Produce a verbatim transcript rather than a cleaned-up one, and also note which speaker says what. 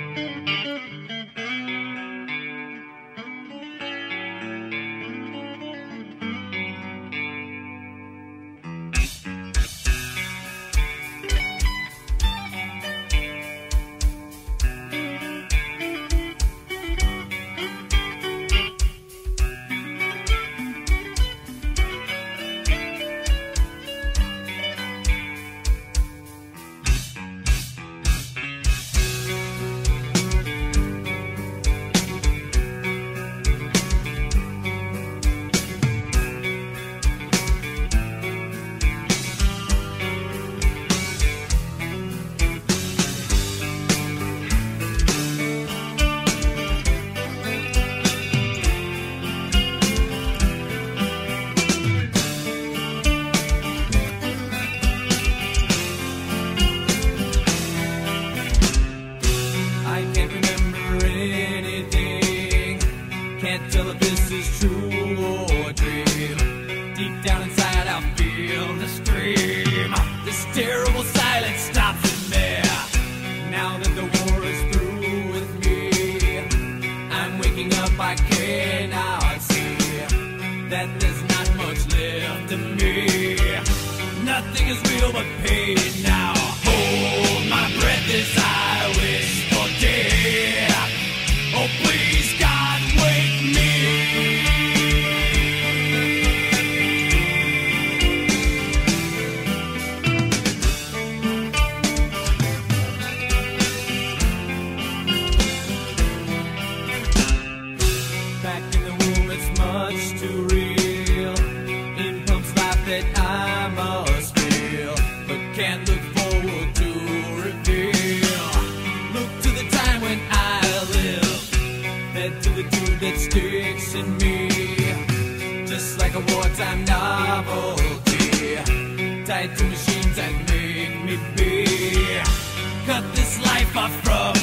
Speaker 1: Can't tell if this is true or a dream. Deep down inside I feel the stream. This terrible silence stops in there. Now that the war is through with me, I'm waking up, I cannot see that there's not much left of me. Nothing is real but pain now. Hold my breath as I wish for death. Oh please God, wake me. Back in the womb it's much too real. In pumps life that I must feel, but can't look forward to reveal. Look to the time when I live, head to the tube that sticks in me, just like a wartime novelty, tied to machines that make me be. Cut this life off from